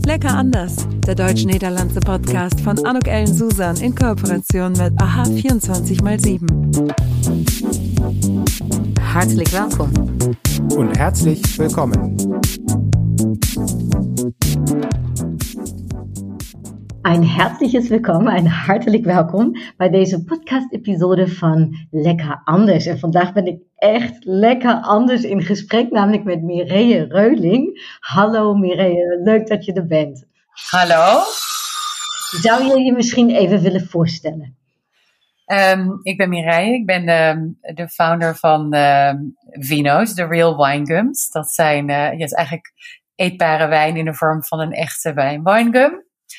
Lecker anders, der deutsch-niederlandse Podcast von Anouk Ellen Susan in Kooperation mit AHA 24x7. Hartelijk welkom. Und herzlich willkommen. Een herzliches Willkommen, een hartelijk welkom bij deze podcast-episode van Lekker Anders. En vandaag ben ik echt lekker anders in gesprek, namelijk met Mireille Reuling. Hallo Mireille, leuk dat je er bent. Hallo. Zou je je misschien even willen voorstellen? Ik ben Mireille, ik ben de founder van Vino's, de Real Wine Gums. Dat zijn is eigenlijk eetbare wijn in de vorm van een echte wijnwinegum.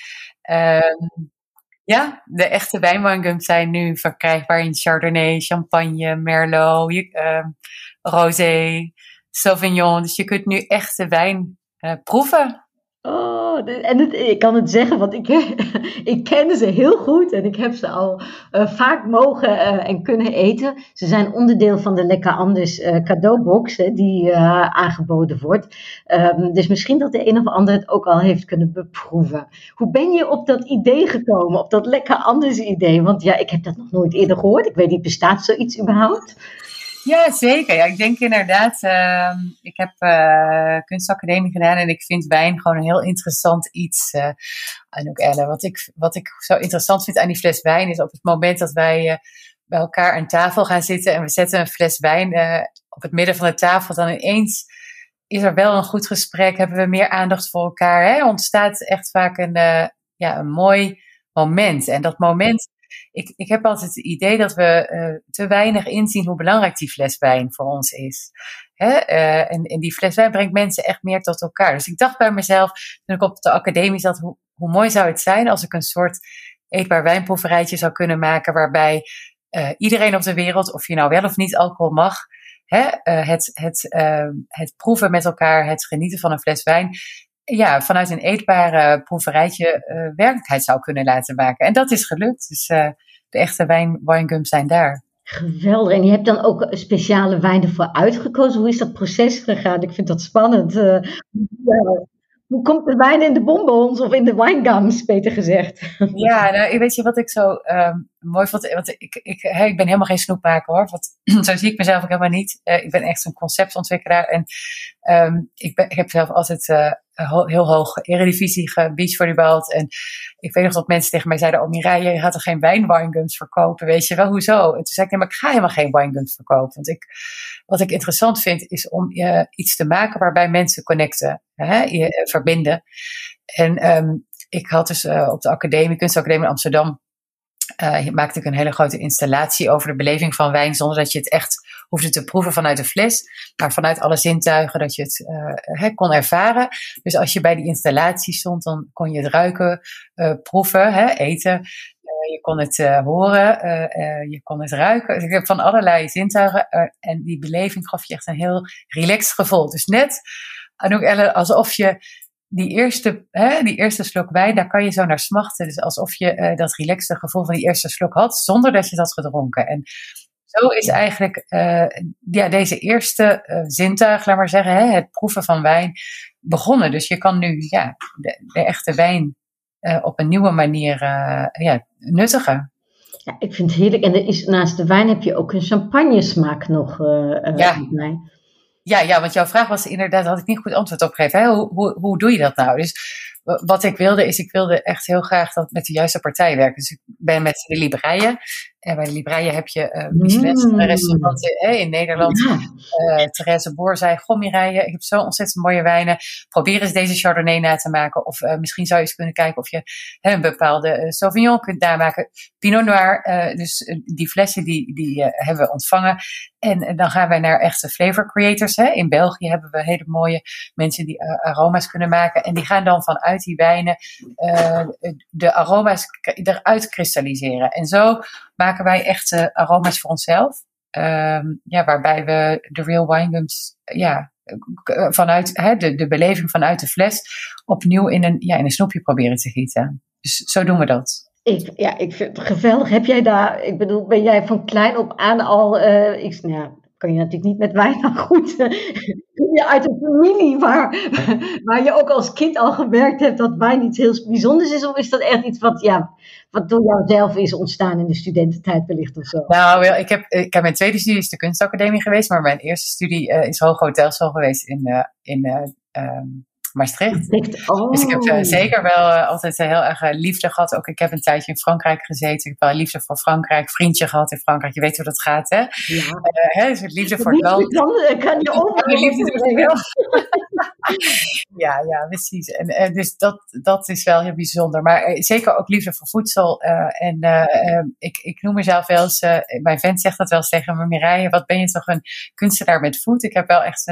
De echte wijnwinegums zijn nu verkrijgbaar in Chardonnay, Champagne, Merlot, Rosé, Sauvignon. Dus je kunt nu echte wijn proeven. Oh, en ik kan het zeggen, want ik ken ze heel goed en ik heb ze al vaak mogen en kunnen eten. Ze zijn onderdeel van de Lekker Anders cadeaubox die aangeboden wordt. Dus misschien dat de een of ander het ook al heeft kunnen beproeven. Hoe ben je op dat idee gekomen, op dat Lekker Anders idee? Want ja, ik heb dat nog nooit eerder gehoord. Ik weet niet, bestaat zoiets überhaupt? Ja, zeker. Ja, ik denk inderdaad, ik heb kunstacademie gedaan en ik vind wijn gewoon een heel interessant iets. Anouk Ellen, wat ik zo interessant vind aan die fles wijn is op het moment dat wij bij elkaar aan tafel gaan zitten en we zetten een fles wijn op het midden van de tafel, dan ineens is er wel een goed gesprek, hebben we meer aandacht voor elkaar. Hè? Ontstaat echt vaak een mooi moment. En dat moment, ik heb altijd het idee dat we te weinig inzien hoe belangrijk die fles wijn voor ons is. Hè? En die fles wijn brengt mensen echt meer tot elkaar. Dus ik dacht bij mezelf, toen ik op de academie zat, hoe mooi zou het zijn als ik een soort eetbaar wijnproeverijtje zou kunnen maken, waarbij iedereen op de wereld, of je nou wel of niet alcohol mag, het proeven met elkaar, het genieten van een fles wijn, vanuit een eetbare proeverijtje werkelijkheid zou kunnen laten maken. En dat is gelukt. Dus de echte wijngums zijn daar. Geweldig. En je hebt dan ook speciale wijn ervoor uitgekozen. Hoe is dat proces gegaan? Ik vind dat spannend. Hoe komt de wijn in de bonbons of in de wijngums, beter gezegd? Ja, nou, weet je wat ik zo mooi vond? Want ik ben helemaal geen snoepmaker hoor. Zo zie ik mezelf ook helemaal niet. Ik ben echt een conceptontwikkelaar. En ik heb zelf altijd heel hoog eredivisie gebeachvolleybald. En ik weet nog dat mensen tegen mij zeiden, Mireille, je gaat er geen wijngums verkopen, weet je wel, hoezo? En toen zei ik, nee, maar ik ga helemaal geen wijngums verkopen. Want wat ik interessant vind, is om iets te maken waarbij mensen connecten, verbinden. En ik had dus op de kunstacademie in Amsterdam, maakte ik een hele grote installatie over de beleving van wijn, zonder dat je het echt hoefde te proeven vanuit de fles, maar vanuit alle zintuigen, dat je het kon ervaren. Dus als je bij die installatie stond, dan kon je het ruiken, proeven, eten. Je kon het horen, je kon het ruiken. Dus ik heb van allerlei zintuigen en die beleving gaf je echt een heel relaxed gevoel. Dus net, Anouk Ellen, alsof je die eerste slok wijn, daar kan je zo naar smachten. Dus alsof je dat relaxte gevoel van die eerste slok had, zonder dat je dat had gedronken. En zo is eigenlijk deze eerste zintuig, laat maar zeggen, het proeven van wijn begonnen. Dus je kan nu de echte wijn op een nieuwe manier nuttigen. Ja, ik vind het heerlijk. En naast de wijn heb je ook een champagnesmaak nog met mij. Ja, want jouw vraag was inderdaad, had ik niet goed antwoord op gegeven. Hè? Hoe doe je dat nou? Dus wat ik wilde echt heel graag dat met de juiste partij werken. Dus ik ben met de Libraille. En bij de Libraille heb je Michelin-restauranten in Nederland. Ja. Therese Boer zei, goh Mireille, ik heb zo ontzettend mooie wijnen. Probeer eens deze Chardonnay na te maken. Of misschien zou je eens kunnen kijken of je een bepaalde Sauvignon kunt namaken. Pinot Noir, dus die flessen die hebben we ontvangen. En dan gaan wij naar echte flavor creators. In België hebben we hele mooie mensen die aroma's kunnen maken. En die gaan dan vanuit die wijnen de aroma's eruit kristalliseren. En zo maken wij echte aroma's voor onszelf. Waarbij we de Real Winegums vanuit de beleving vanuit de fles opnieuw in een snoepje proberen te gieten. Dus zo doen we dat. Ik vind het geweldig. Heb jij daar, ben jij van klein op aan al, kan je natuurlijk niet met wijn, maar goed. Kom je uit een familie waar je ook als kind al gemerkt hebt dat wijn iets heel bijzonders is? Of is dat echt iets wat door jouzelf is ontstaan in de studententijd wellicht of zo? Nou, ik heb mijn tweede studie is de kunstacademie geweest, maar mijn eerste studie is Hoge Hotelschool geweest in Maastricht. Dus ik heb zeker wel altijd heel erg liefde gehad. Ook ik heb een tijdje in Frankrijk gezeten. Ik heb wel liefde voor Frankrijk. Vriendje gehad in Frankrijk. Je weet hoe dat gaat, hè? Ja. Dus liefde voor het land. Kan je ook. Ja, precies. En dus dat is wel heel bijzonder. Maar zeker ook liefde voor voedsel. Ik noem mezelf wel eens... mijn vent zegt dat wel eens tegen me. Mireille, wat ben je toch een kunstenaar met food? Ik heb wel echt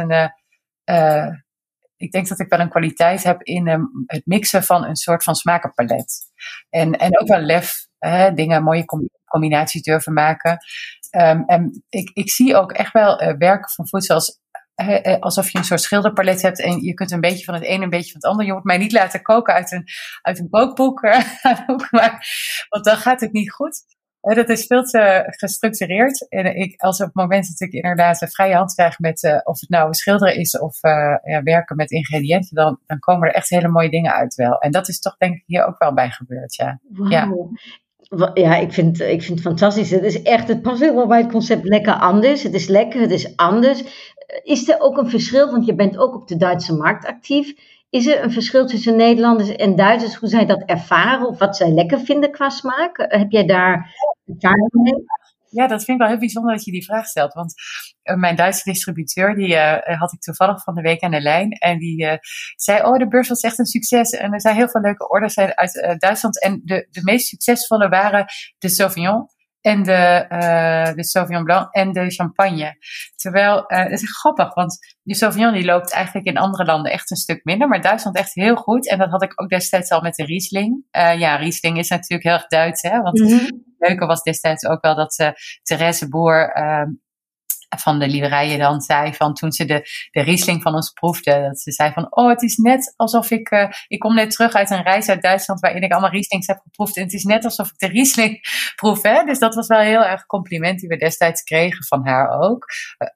ik denk dat ik wel een kwaliteit heb in het mixen van een soort van smakenpalet. En ook wel lef, dingen, mooie combinaties durven maken. En ik zie ook echt wel werken van voedsel alsof je een soort schilderpalet hebt en je kunt een beetje van het een, een beetje van het ander. Je moet mij niet laten koken uit een kookboek, want dan gaat het niet goed. Dat is veel te gestructureerd. En als op het moment dat ik inderdaad een vrije hand krijg met of het nou schilderen is of werken met ingrediënten, dan komen er echt hele mooie dingen uit wel. En dat is toch denk ik hier ook wel bij gebeurd, ja. Wow. Ja, ik vind het fantastisch. Het past heel wel bij het concept lekker anders. Het is lekker, het is anders. Is er ook een verschil, want je bent ook op de Duitse markt actief. Is er een verschil tussen Nederlanders en Duitsers, hoe zij dat ervaren of wat zij lekker vinden qua smaak? Heb jij daar ervaring mee? Ja, dat vind ik wel heel bijzonder dat je die vraag stelt. Want mijn Duitse distributeur, die had ik toevallig van de week aan de lijn. En die zei, de beurs was echt een succes. En er zijn heel veel leuke orders uit Duitsland. En de meest succesvolle waren de Sauvignon. En de Sauvignon Blanc en de champagne. Terwijl, dat is grappig, want de Sauvignon die loopt eigenlijk in andere landen echt een stuk minder. Maar Duitsland echt heel goed. En dat had ik ook destijds al met de Riesling. Riesling is natuurlijk heel erg Duits, hè. Want het leuke was destijds ook wel dat Therese Boer van de Lieverijen dan zei van toen ze de Riesling van ons proefde. Dat ze zei van, het is net alsof ik kom net terug uit een reis uit Duitsland waarin ik allemaal Rieslings heb geproefd. En het is net alsof ik de Riesling proef, hè. Dus dat was wel heel erg compliment die we destijds kregen van haar ook.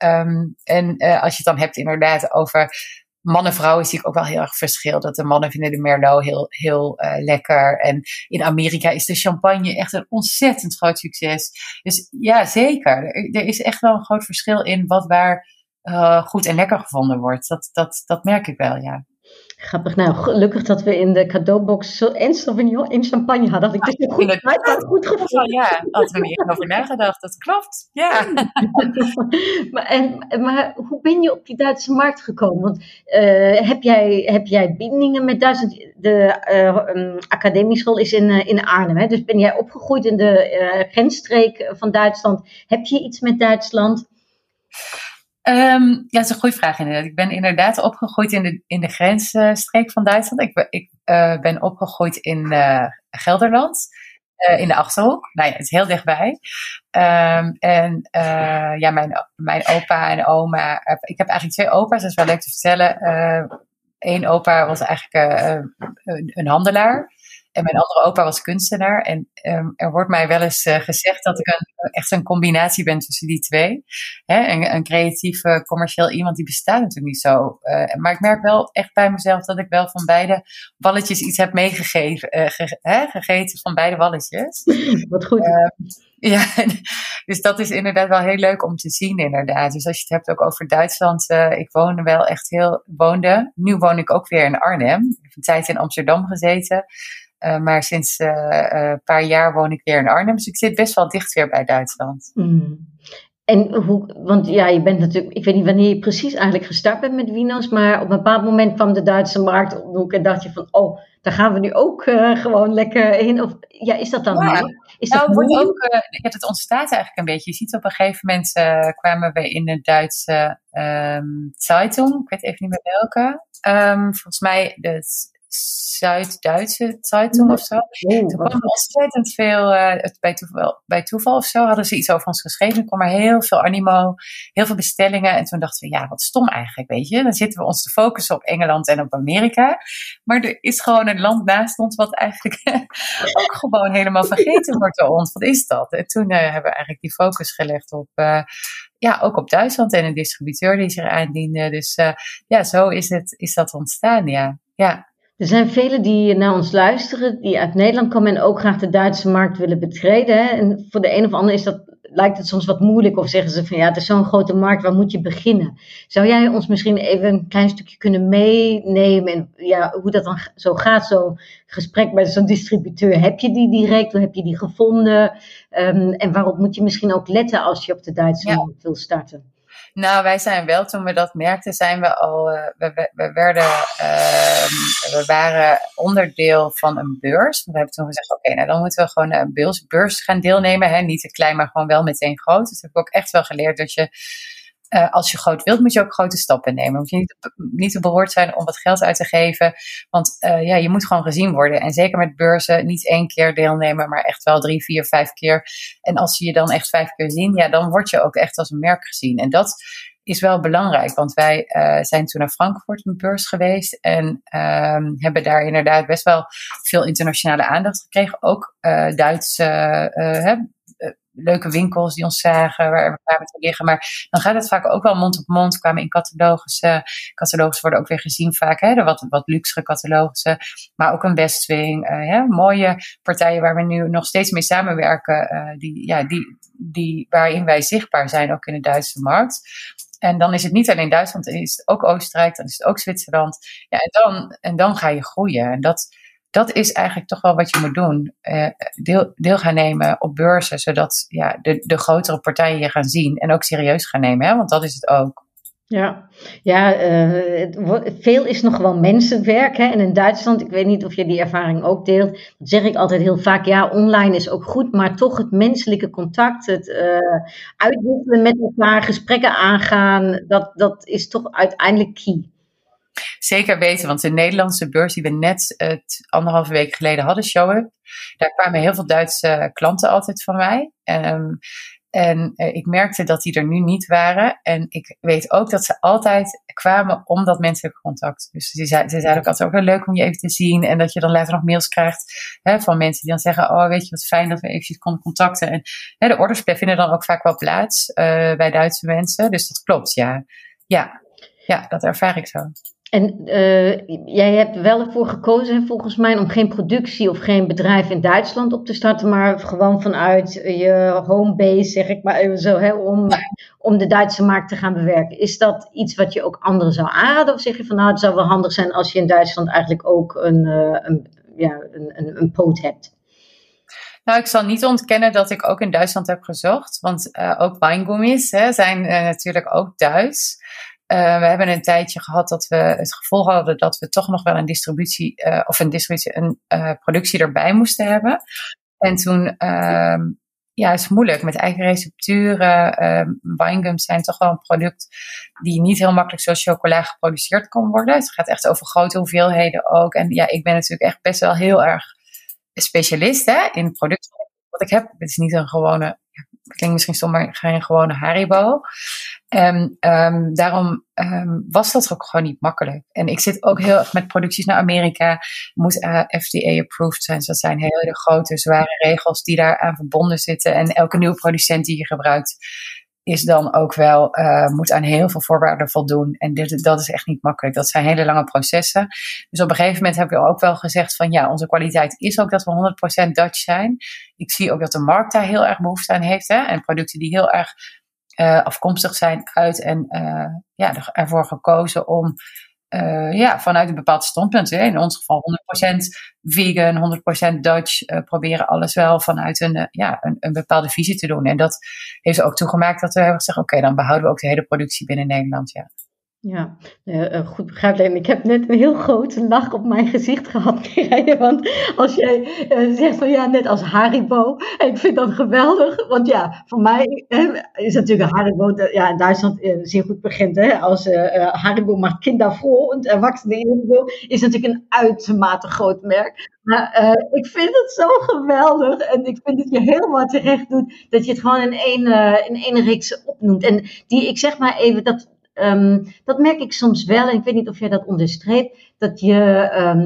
Als je het dan hebt inderdaad over mannen en vrouwen zie ik ook wel heel erg verschil. Dat de mannen vinden de Merlot heel lekker. En in Amerika is de champagne echt een ontzettend groot succes. Dus ja, zeker. Er is echt wel een groot verschil in wat waar goed en lekker gevonden wordt. Dat merk ik wel, ja. Grappig. Nou, gelukkig dat we in de cadeaubox en Sauvignon en champagne hadden. Dat ik het goed gevonden. Ja, hadden we niet over nagedacht. Dat klopt, ja. Maar hoe ben je op die Duitse markt gekomen? Want heb jij bindingen met Duitsland? De academieschool is in Arnhem. Hè? Dus ben jij opgegroeid in de grensstreek van Duitsland? Heb je iets met Duitsland? Dat is een goede vraag inderdaad. Ik ben inderdaad opgegroeid in de grensstreek van Duitsland. Ik ben opgegroeid in Gelderland, in de Achterhoek. Nou ja, het is heel dichtbij. Mijn opa en oma. Ik heb eigenlijk 2 opa's, dat is wel leuk te vertellen. Eén opa was eigenlijk een handelaar. En mijn andere opa was kunstenaar. En er wordt mij wel eens gezegd dat ik echt een combinatie ben tussen die twee. Een creatief, commercieel iemand, die bestaat natuurlijk niet zo. Maar ik merk wel echt bij mezelf dat ik wel van beide walletjes iets heb gegeten van beide walletjes. Wat goed. Dus dat is inderdaad wel heel leuk om te zien inderdaad. Dus als je het hebt ook over Duitsland. Ik woonde wel echt nu woon ik ook weer in Arnhem. Ik heb een tijd in Amsterdam gezeten. Maar sinds een paar jaar woon ik weer in Arnhem. Dus ik zit best wel dicht weer bij Duitsland. En want je bent natuurlijk, ik weet niet wanneer je precies eigenlijk gestart bent met Wino's, maar op een bepaald moment kwam de Duitse markt op de hoek en dacht je van, daar gaan we nu ook gewoon lekker heen. Of is dat dan het ontstaat eigenlijk een beetje. Je ziet op een gegeven moment kwamen we in de Duitse Zeitung, ik weet even niet meer welke. Volgens mij de Zuid-Duitse Zeitung of zo. Toen kwam er ontzettend veel, bij toeval of zo, hadden ze iets over ons geschreven. Er kwam er heel veel animo, heel veel bestellingen. En toen dachten we, wat stom eigenlijk, weet je. Dan zitten we ons te focussen op Engeland en op Amerika. Maar er is gewoon een land naast ons wat eigenlijk ook gewoon helemaal vergeten wordt door ons. Wat is dat? En toen hebben we eigenlijk die focus gelegd op ook op Duitsland en een distributeur die zich aandiende. Dus zo is dat ontstaan, ja. Er zijn velen die naar ons luisteren, die uit Nederland komen en ook graag de Duitse markt willen betreden. Hè? En voor de een of ander lijkt het soms wat moeilijk of zeggen ze van het is zo'n grote markt, waar moet je beginnen? Zou jij ons misschien even een klein stukje kunnen meenemen en hoe dat dan zo gaat, zo'n gesprek bij zo'n distributeur? Heb je die direct, hoe heb je die gevonden? En waarop moet je misschien ook letten als je op de Duitse markt wil starten? Nou, wij zijn wel, toen we dat merkten, zijn we al, we waren onderdeel van een beurs. We hebben toen gezegd, oké, dan moeten we gewoon een beurs gaan deelnemen. Hè? Niet te klein, maar gewoon wel meteen groot. Dus heb ik ook echt wel geleerd dat je, als je groot wilt, moet je ook grote stappen nemen. Moet je niet te beroerd zijn om wat geld uit te geven. Want je moet gewoon gezien worden. En zeker met beurzen, niet 1 keer deelnemen, maar echt wel 3, 4, 5 keer. En als ze je dan echt 5 keer zien, dan word je ook echt als een merk gezien. En dat is wel belangrijk, want wij zijn toen naar Frankfurt een beurs geweest en hebben daar inderdaad best wel veel internationale aandacht gekregen. Ook Duitse leuke winkels die ons zagen, waar we kwamen te liggen. Maar dan gaat het vaak ook wel mond op mond. Kwamen in catalogus. Catalogus worden ook weer gezien vaak. De wat luxere catalogussen. Maar ook een Westwing. Mooie partijen waar we nu nog steeds mee samenwerken. Waarin wij zichtbaar zijn, ook in de Duitse markt. En dan is het niet alleen Duitsland, dan is het ook Oostenrijk, dan is het ook Zwitserland. Ja, en dan ga je groeien. En dat is eigenlijk toch wel wat je moet doen. Deel gaan nemen op beurzen, zodat de grotere partijen je gaan zien en ook serieus gaan nemen. Hè? Want dat is het ook. Veel is nog wel mensenwerk. Hè? En in Duitsland, ik weet niet of je die ervaring ook deelt. Dat zeg ik altijd heel vaak. Online is ook goed, maar toch het menselijke contact, het uitwisselen met elkaar, gesprekken aangaan, dat is toch uiteindelijk key. Zeker weten, want de Nederlandse beurs die we net 1,5 week geleden hadden, Show-up, daar kwamen heel veel Duitse klanten altijd van mij. En ik merkte dat die er nu niet waren. En ik weet ook dat ze altijd kwamen om dat menselijke contact. Dus ze zeiden ook altijd ook wel leuk om je even te zien. En dat je dan later nog mails krijgt van mensen die dan zeggen, oh weet je wat fijn dat we eventjes konden contacten. En de orders vinden dan ook vaak wel plaats bij Duitse mensen. Dus dat klopt, ja, dat ervaar ik zo. En jij hebt wel ervoor gekozen, volgens mij, om geen productie of geen bedrijf in Duitsland op te starten, maar gewoon vanuit je homebase, zeg ik maar even zo, om de Duitse markt te gaan bewerken. Is dat iets wat je ook anderen zou aanraden? Of zeg je van, het zou wel handig zijn als je in Duitsland eigenlijk ook een poot hebt? Nou, ik zal niet ontkennen dat ik ook in Duitsland heb gezocht, want ook wijngummies zijn natuurlijk ook Duits. We hebben een tijdje gehad dat we het gevoel hadden dat we toch nog wel een productie erbij moesten hebben. En toen, is het moeilijk met eigen recepturen. Winegums zijn toch wel een product die niet heel makkelijk zoals chocola geproduceerd kan worden. Het gaat echt over grote hoeveelheden ook. En ik ben natuurlijk echt best wel heel erg specialist in producten. Wat ik heb, het is niet een gewone, klinkt misschien stom, maar geen gewone Haribo. Daarom was dat ook gewoon niet makkelijk. En ik zit ook heel erg met producties naar Amerika. Moet FDA-approved zijn. Dus dat zijn hele grote, zware regels die daaraan verbonden zitten. En elke nieuwe producent die je gebruikt is dan ook wel, moet aan heel veel voorwaarden voldoen. En dat is echt niet makkelijk. Dat zijn hele lange processen. Dus op een gegeven moment heb ik ook wel gezegd van onze kwaliteit is ook dat we 100% Dutch zijn. Ik zie ook dat de markt daar heel erg behoefte aan heeft. En producten die heel erg afkomstig zijn uit en ervoor gekozen om vanuit een bepaald standpunt, in ons geval 100% vegan, 100% Dutch, proberen alles wel vanuit een bepaalde visie te doen. En dat heeft ook toegemaakt dat we hebben gezegd, oké, dan behouden we ook de hele productie binnen Nederland, Ja, goed begrijpelijk. Ik heb net een heel grote lach op mijn gezicht gehad, Mireille. Want als jij zegt van net als Haribo. En ik vind dat geweldig. Want voor mij is natuurlijk Haribo in Duitsland zeer goed bekend. Als Haribo maakt kindervroh en erwachsenen is natuurlijk een uitermate groot merk. Maar ik vind het zo geweldig. En ik vind dat je helemaal terecht doet dat je het gewoon in één reeks opnoemt. En ik zeg maar even dat merk ik soms wel, en ik weet niet of jij dat onderstreept, dat je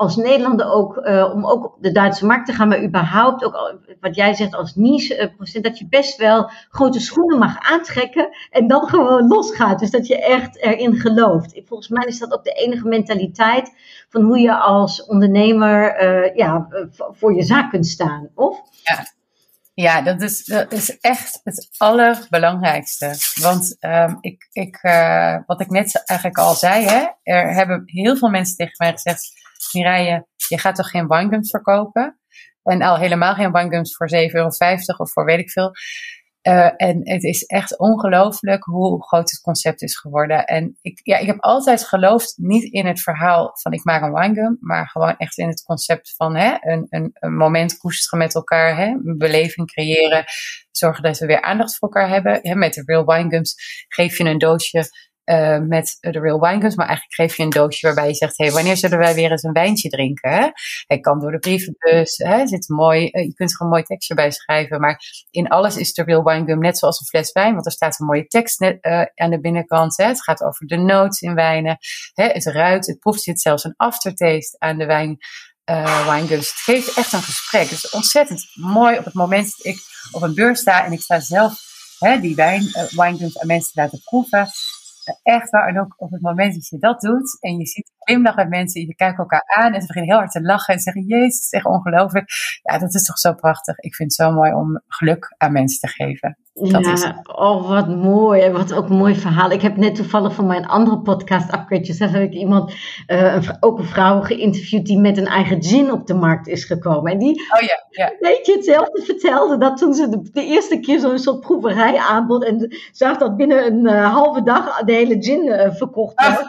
als Nederlander ook, om ook op de Duitse markt te gaan, maar überhaupt ook, wat jij zegt als niche procent, dat je best wel grote schoenen mag aantrekken en dan gewoon losgaat. Dus dat je echt erin gelooft. Volgens mij is dat ook de enige mentaliteit van hoe je als ondernemer voor je zaak kunt staan, of? Ja, dat is echt het allerbelangrijkste. Want wat ik net eigenlijk al zei, hè, er hebben heel veel mensen tegen mij gezegd: Mireille, je gaat toch geen winegums verkopen? En al helemaal geen winegums voor €7,50 of voor weet ik veel. En het is echt ongelooflijk hoe groot het concept is geworden. En ik heb altijd geloofd, niet in het verhaal van ik maak een winegum, maar gewoon echt in het concept van een moment koesteren met elkaar, een beleving creëren, zorgen dat we weer aandacht voor elkaar hebben. Met de Real Winegums geef je een doosje met de Real Winegums, maar eigenlijk geef je een doosje waarbij je zegt: wanneer zullen wij weer eens een wijntje drinken? Hè? Hij kan door de brievenbus, zit mooi, je kunt er een mooi tekstje bij schrijven, maar in alles is de Real Winegum net zoals een fles wijn, want er staat een mooie tekst aan de binnenkant. Het gaat over de notes in wijnen, het ruikt, het proeft, zit zelfs een aftertaste aan de winegums. Het geeft echt een gesprek. Het is ontzettend mooi op het moment dat ik op een beurs sta en ik sta zelf die winegums aan mensen te laten proeven. Echt waar, en ook op het moment dat je dat doet en je ziet glimlach bij mensen, je kijkt elkaar aan en ze beginnen heel hard te lachen en zeggen: Jezus, het is echt ongelooflijk. Ja, dat is toch zo prachtig. Ik vind het zo mooi om geluk aan mensen te geven. Dat is het. Oh, wat mooi. Wat ook een mooi verhaal. Ik heb net toevallig van mijn andere podcast, Upgrade Yourself, heb ik iemand, ook een vrouw geïnterviewd die met een eigen gin op de markt is gekomen. En die weet je hetzelfde vertelde, dat toen ze de eerste keer zo'n soort proeverij aanbod en zag dat binnen een halve dag de hele gin verkocht werd.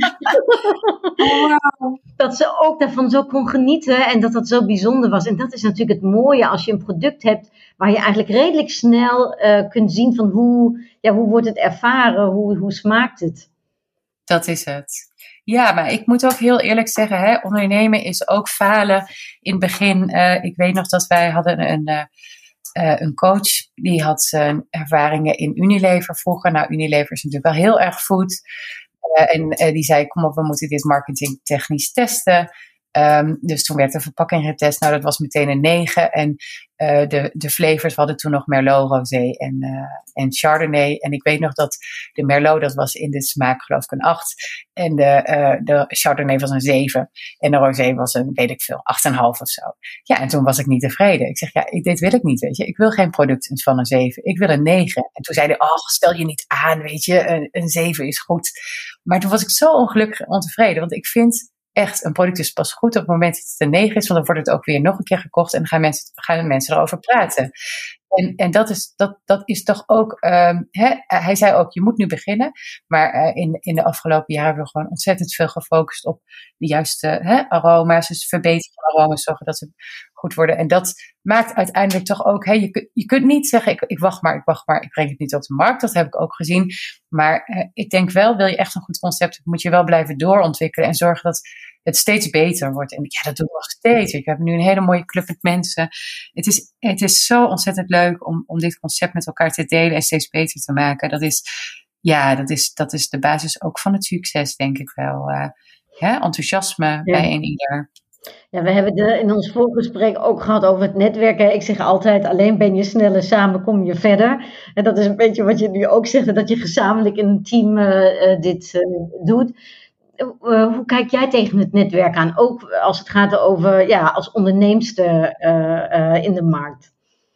Wow. Dat ze ook daarvan zo kon genieten en dat dat zo bijzonder was. En dat is natuurlijk het mooie als je een product hebt waar je eigenlijk redelijk snel kunt zien van hoe wordt het ervaren, hoe smaakt het. Dat is het. Ja, maar ik moet ook heel eerlijk zeggen, ondernemen is ook falen. In het begin, ik weet nog dat wij hadden een coach, die had ervaringen in Unilever vroeger. Nou, Unilever is natuurlijk wel heel erg food. En die zei: kom op, we moeten dit marketingtechnisch testen. Dus toen werd de verpakking getest. Nou, dat was meteen een 9. En de flavors, we hadden toen nog Merlot, Rosé en Chardonnay. En ik weet nog dat de Merlot, dat was in de smaak geloof ik een 8. En de Chardonnay was een 7. En de Rosé was een, weet ik veel, 8,5 of zo. Ja, en toen was ik niet tevreden. Ik zeg: dit wil ik niet, weet je. Ik wil geen product van een 7. Ik wil een 9. En toen zei hij: stel je niet aan, weet je. Een 7 is goed. Maar toen was ik zo ongelukkig en ontevreden. Want ik vind echt, een product is pas goed op het moment dat het een 9 is, want dan wordt het ook weer nog een keer gekocht en dan gaan mensen erover praten. En dat is toch ook, hij zei ook: je moet nu beginnen, maar in de afgelopen jaren hebben we gewoon ontzettend veel gefocust op de juiste aroma's, dus verbeteren van aroma's, zorgen dat ze goed worden. En dat maakt uiteindelijk toch ook, je kunt niet zeggen: ik wacht maar, ik breng het niet op de markt. Dat heb ik ook gezien. Maar ik denk wel, wil je echt een goed concept, moet je wel blijven doorontwikkelen en zorgen dat het steeds beter wordt. En dat doen we nog steeds. We hebben nu een hele mooie club met mensen. Het is zo ontzettend leuk om dit concept met elkaar te delen en steeds beter te maken. Dat is de basis ook van het succes, denk ik wel. Enthousiasme bij een ieder. Ja, we hebben in ons voorgesprek ook gehad over het netwerken. Ik zeg altijd: alleen ben je sneller, samen kom je verder. En dat is een beetje wat je nu ook zegt, dat je gezamenlijk in een team dit doet. Hoe kijk jij tegen het netwerk aan? Ook als het gaat over, als onderneemster in de markt.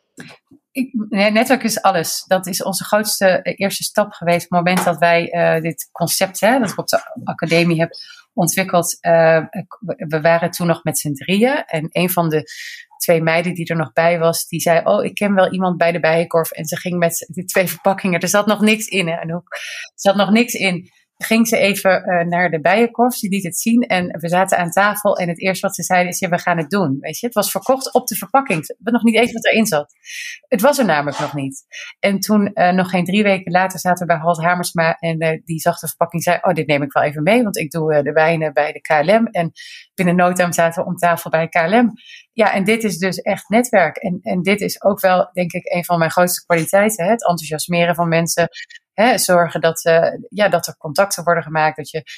Netwerk is alles. Dat is onze grootste eerste stap geweest. Op het moment dat wij dit concept, dat ik op de academie heb ontwikkeld. We waren toen nog met z'n 3. En een van de 2 meiden die er nog bij was, die zei: ik ken wel iemand bij de Bijenkorf. En ze ging met die 2 verpakkingen. Er zat nog niks in. Er zat nog niks in. Ging ze even naar de Bijenkorf, ze liet het zien en we zaten aan tafel en het eerste wat ze zeiden is: we gaan het doen. Weet je? Het was verkocht op de verpakking. We hadden nog niet eens wat erin zat. Het was er namelijk nog niet. En toen, nog geen 3 weken later, zaten we bij Halt Hamersma en die zag de verpakking, zei: dit neem ik wel even mee, want ik doe de wijnen bij de KLM. En binnen no time zaten we om tafel bij KLM. Ja, en dit is dus echt netwerk. En dit is ook wel, denk ik, een van mijn grootste kwaliteiten. Het enthousiasmeren van mensen. Zorgen dat er contacten worden gemaakt. Dat je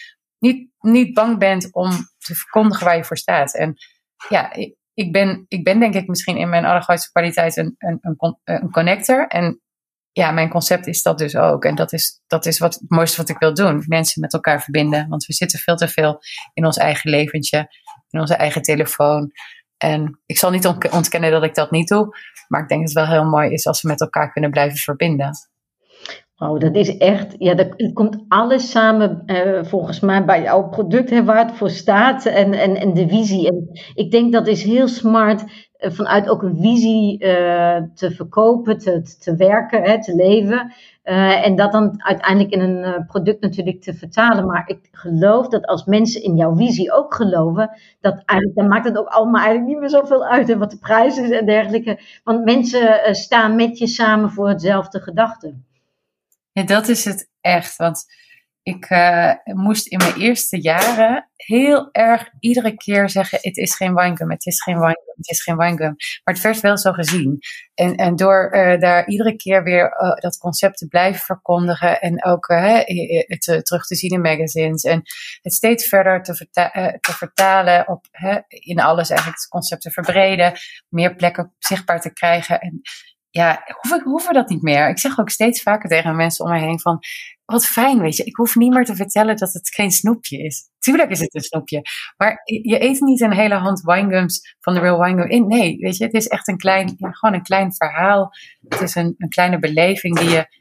niet bang bent om te verkondigen waar je voor staat. En ja, ik ben denk ik misschien in mijn allergrootste kwaliteit een connector. En ja, mijn concept is dat dus ook. En dat is het mooiste wat ik wil doen. Mensen met elkaar verbinden. Want we zitten veel te veel in ons eigen leventje. In onze eigen telefoon. En ik zal niet ontkennen dat ik dat niet doe. Maar ik denk dat het wel heel mooi is als we met elkaar kunnen blijven verbinden. Oh, dat is echt, ja, dat komt alles samen volgens mij bij jouw product, hè, waar het voor staat en de visie. En ik denk dat is heel smart vanuit ook een visie te verkopen, te werken, hè, te leven. En dat dan uiteindelijk in een product natuurlijk te vertalen. Maar ik geloof dat als mensen in jouw visie ook geloven, dan maakt het ook allemaal eigenlijk niet meer zoveel uit, hè, wat de prijs is en dergelijke. Want mensen staan met je samen voor hetzelfde gedachte. Ja, dat is het echt. Want ik moest in mijn eerste jaren heel erg iedere keer zeggen: het is geen winegum, het is geen winegum, het is geen winegum. Maar het werd wel zo gezien. En door daar iedere keer weer dat concept te blijven verkondigen en ook het terug te zien in magazines en het steeds verder te vertalen op in alles eigenlijk het concept te verbreden, meer plekken zichtbaar te krijgen. En ja, hoeven we dat niet meer. Ik zeg ook steeds vaker tegen mensen om me heen van, wat fijn, weet je. Ik hoef niet meer te vertellen dat het geen snoepje is. Tuurlijk is het een snoepje. Maar je eet niet een hele hand winegums van de Real Winegum in. Nee, weet je, het is echt gewoon een klein verhaal. Het is een kleine beleving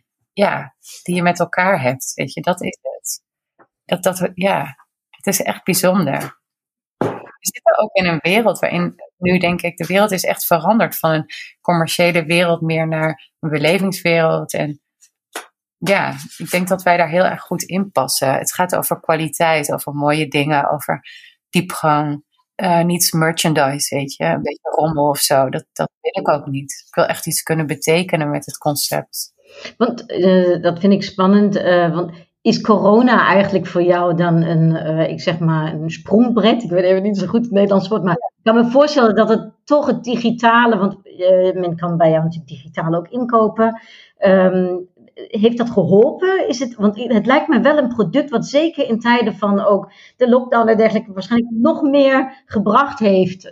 die je met elkaar hebt. Weet je, dat is het. Het is echt bijzonder. We zitten ook in een wereld waarin nu denk ik de wereld is echt veranderd van een commerciële wereld meer naar een belevingswereld. En ja, ik denk dat wij daar heel erg goed in passen. Het gaat over kwaliteit, over mooie dingen, over diepgang. Niet merchandise, weet je, een beetje rommel of zo. Dat wil ik ook niet. Ik wil echt iets kunnen betekenen met het concept. Want dat vind ik spannend, want is corona eigenlijk voor jou dan een sprongbrett? Ik weet even niet zo goed het Nederlands woord, maar ik kan me voorstellen dat het toch het digitale, want men kan bij jou natuurlijk digitaal ook inkopen. Heeft dat geholpen? Want het lijkt me wel een product wat zeker in tijden van ook de lockdown en dergelijke waarschijnlijk nog meer gebracht heeft.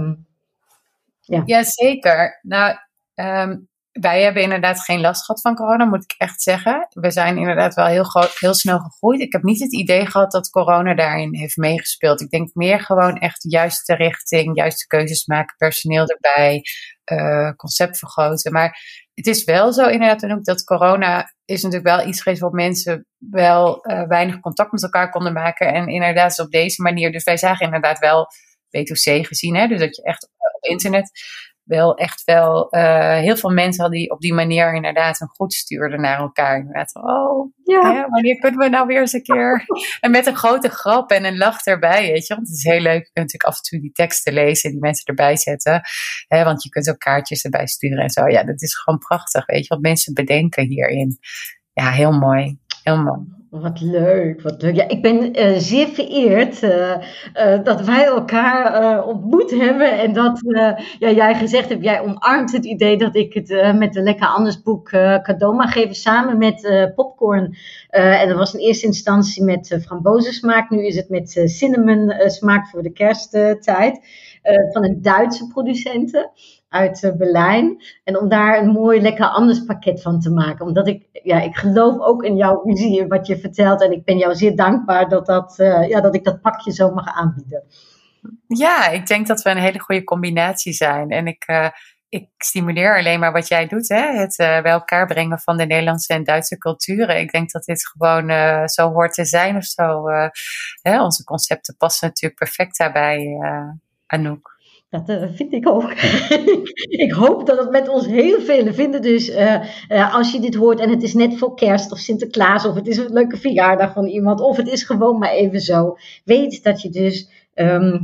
Ja, zeker. Nou, wij hebben inderdaad geen last gehad van corona, moet ik echt zeggen. We zijn inderdaad wel heel snel gegroeid. Ik heb niet het idee gehad dat corona daarin heeft meegespeeld. Ik denk meer gewoon echt de juiste richting, juiste keuzes maken, personeel erbij, concept vergroten. Maar het is wel zo inderdaad en ook dat corona is natuurlijk wel iets geweest wat mensen wel weinig contact met elkaar konden maken. En inderdaad op deze manier. Dus wij zagen inderdaad wel B2C gezien. Hè? Dus dat je echt op internet heel veel mensen hadden die op die manier inderdaad een goed stuurden naar elkaar. Inderdaad, wanneer kunnen we nou weer eens een keer? En met een grote grap en een lach erbij, weet je. Want het is heel leuk, je kunt natuurlijk af en toe die teksten lezen, die mensen erbij zetten. Want je kunt ook kaartjes erbij sturen en zo. Ja, dat is gewoon prachtig, weet je, wat mensen bedenken hierin. Ja, heel mooi. Heel mooi. Wat leuk, wat leuk. Ja, ik ben zeer vereerd dat wij elkaar ontmoet hebben. En dat jij gezegd hebt, jij omarmt het idee dat ik het met de Lekker Anders boek cadeau mag geven. Samen met popcorn. En dat was in eerste instantie met frambozensmaak. Nu is het met cinnamon smaak voor de kersttijd. Van een Duitse producenten uit Berlijn. En om daar een mooi Lekker Anders pakket van te maken. Omdat ik geloof ook in jouw visie, wat je vertelt. En ik ben jou zeer dankbaar dat ik dat pakje zo mag aanbieden. Ja, ik denk dat we een hele goede combinatie zijn. En ik stimuleer alleen maar wat jij doet. Hè? Het bij elkaar brengen van de Nederlandse en Duitse culturen. Ik denk dat dit gewoon zo hoort te zijn of zo. Onze concepten passen natuurlijk perfect daarbij, Anouk. Dat vind ik ook. Ik hoop dat het met ons heel velen vinden. Dus als je dit hoort en het is net voor kerst of Sinterklaas of het is een leuke verjaardag van iemand of het is gewoon maar even zo. Weet dat je dus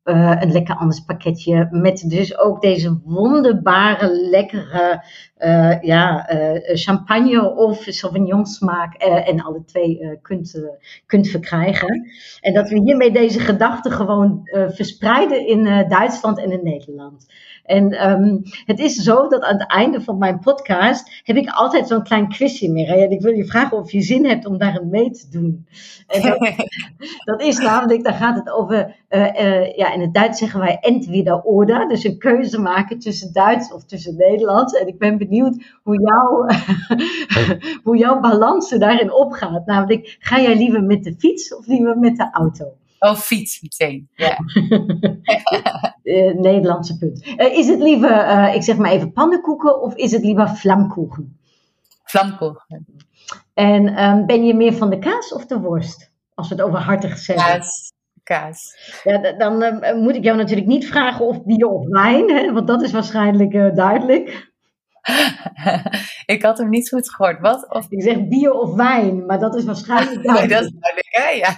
een lekker anders pakketje met dus ook deze wonderbare, lekkere champagne of Sauvignon smaak en alle twee kunt verkrijgen. En dat we hiermee deze gedachten gewoon verspreiden in Duitsland en in Nederland. En het is zo dat aan het einde van mijn podcast heb ik altijd zo'n klein quizje meer. En ik wil je vragen of je zin hebt om daarin mee te doen. En dat is namelijk, daar gaat het over, in het Duits zeggen wij entweder oder. Dus een keuze maken tussen Duits of tussen Nederlands. En ik ben benieuwd hoe jouw balans er daarin opgaat. Namelijk, ga jij liever met de fiets of liever met de auto? Oh, fiets meteen, ja. Nederlandse punt. Is het liever, ik zeg maar even pannenkoeken of is het liever vlamkoeken? Vlamkoeken. En ben je meer van de kaas of de worst? Als we het over hartig zeggen. Kaas. Ja, dan moet ik jou natuurlijk niet vragen of bier of wijn, hè, want dat is waarschijnlijk duidelijk. Ik had hem niet goed gehoord. Wat? Of... Ik zeg bier of wijn, maar dat is waarschijnlijk duidelijk. Nee, dat is duidelijk, hè? Ja.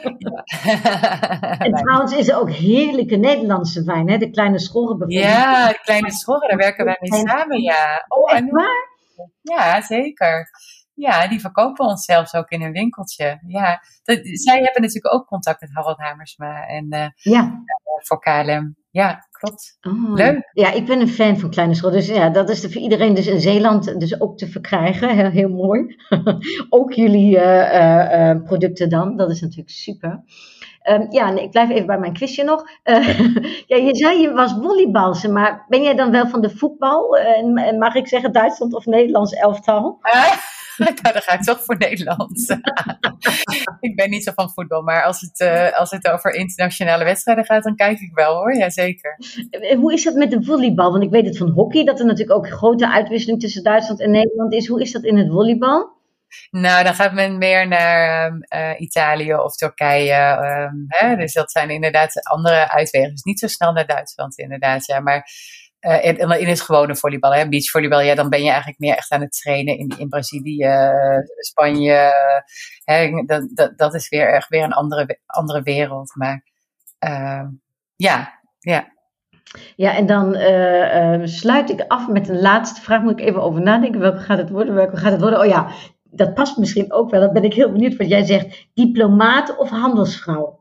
En trouwens is er ook heerlijke Nederlandse wijn, hè? De Kleine Schorre bijvoorbeeld. Ja, de Kleine Schorre, daar werken wij mee samen, ja. Oh, echt waar? Ja, zeker. Ja, die verkopen ons zelfs ook in een winkeltje. Ja, zij hebben natuurlijk ook contact met Harold Hamersma en voor KLM. Ja, klopt. Oh, leuk. Ja, ik ben een fan van Kleine Schorre. Dus ja, dat is voor iedereen dus in Zeeland dus ook te verkrijgen. Heel mooi. Ook jullie producten dan. Dat is natuurlijk super. Ik blijf even bij mijn quizje nog. Je zei je was volleybalster, maar ben jij dan wel van de voetbal? En mag ik zeggen Duitsland of Nederlands elftal? Nou, dan ga ik toch voor Nederland. Ik ben niet zo van voetbal, maar als het over internationale wedstrijden gaat, dan kijk ik wel hoor, jazeker. Hoe is dat met de volleybal? Want ik weet het van hockey, dat er natuurlijk ook grote uitwisseling tussen Duitsland en Nederland is. Hoe is dat in het volleybal? Nou, dan gaat men meer naar Italië of Turkije. Dus dat zijn inderdaad andere uitwegen. Dus niet zo snel naar Duitsland inderdaad, ja. Maar in het gewone volleybal, beachvolleybal, ja, dan ben je eigenlijk meer echt aan het trainen in Brazilië, Spanje. Dat is weer echt weer een andere wereld. Maar ja. Ja, en dan sluit ik af met een laatste vraag. Moet ik even over nadenken. Welke gaat het worden? Oh ja, dat past misschien ook wel. Dan ben ik heel benieuwd wat jij zegt. Diplomaat of handelsvrouw?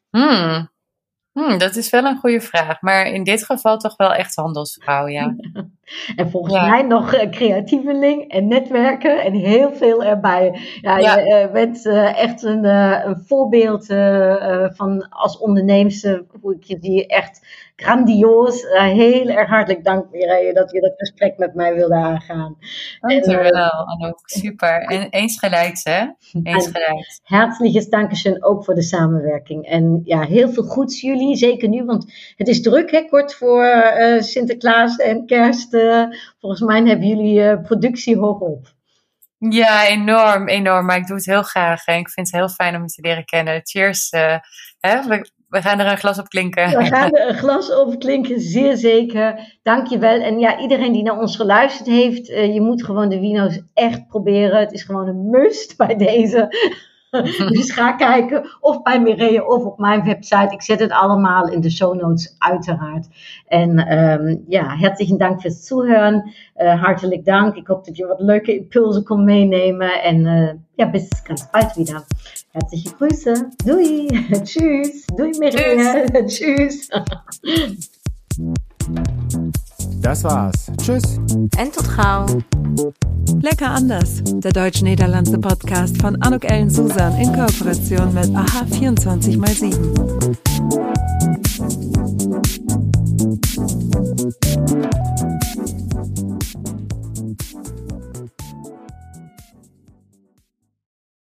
Dat is wel een goede vraag. Maar in dit geval toch wel echt handelsvrouw, ja. En volgens mij nog creatieveling en netwerken en heel veel erbij. Ja. Je bent echt een voorbeeld van als onderneemster. Hoe ik je zie, echt grandioos. Heel erg hartelijk dank, Mireille, dat je dat gesprek met mij wilde aangaan. Dankjewel, Anouk. Super. En eens gelijks, hè? Eens gelijks. Herzliches Dankeschön ook voor de samenwerking. En ja, heel veel goeds jullie. Zeker nu, want het is druk, hè? Kort voor Sinterklaas en Kerst. Volgens mij hebben jullie productie hoog op. Ja, enorm. Maar ik doe het heel graag. En ik vind het heel fijn om je te leren kennen. Cheers. We gaan er een glas op klinken. We gaan er een glas op klinken, zeer zeker. Dank je wel. En ja, iedereen die naar ons geluisterd heeft, je moet gewoon de wino's echt proberen. Het is gewoon een must bij deze. Dus ga kijken of bij Mireille of op mijn website. Ik zet het allemaal in de show notes uiteraard. En herzlichen Dank fürs Zuhören. Hartelijk dank. Ik hoop dat je wat leuke impulsen kon meenemen. En bis ganz bald wieder. Herzliche Grüße. Doei. Tschüss. Doei Mireille. Tschüss. Das war's. Tschüss. En tot gauw. Lecker anders. Der deutsch-niederlandse Podcast von Anouk Ellen Susan in Kooperation mit AHA 24x7.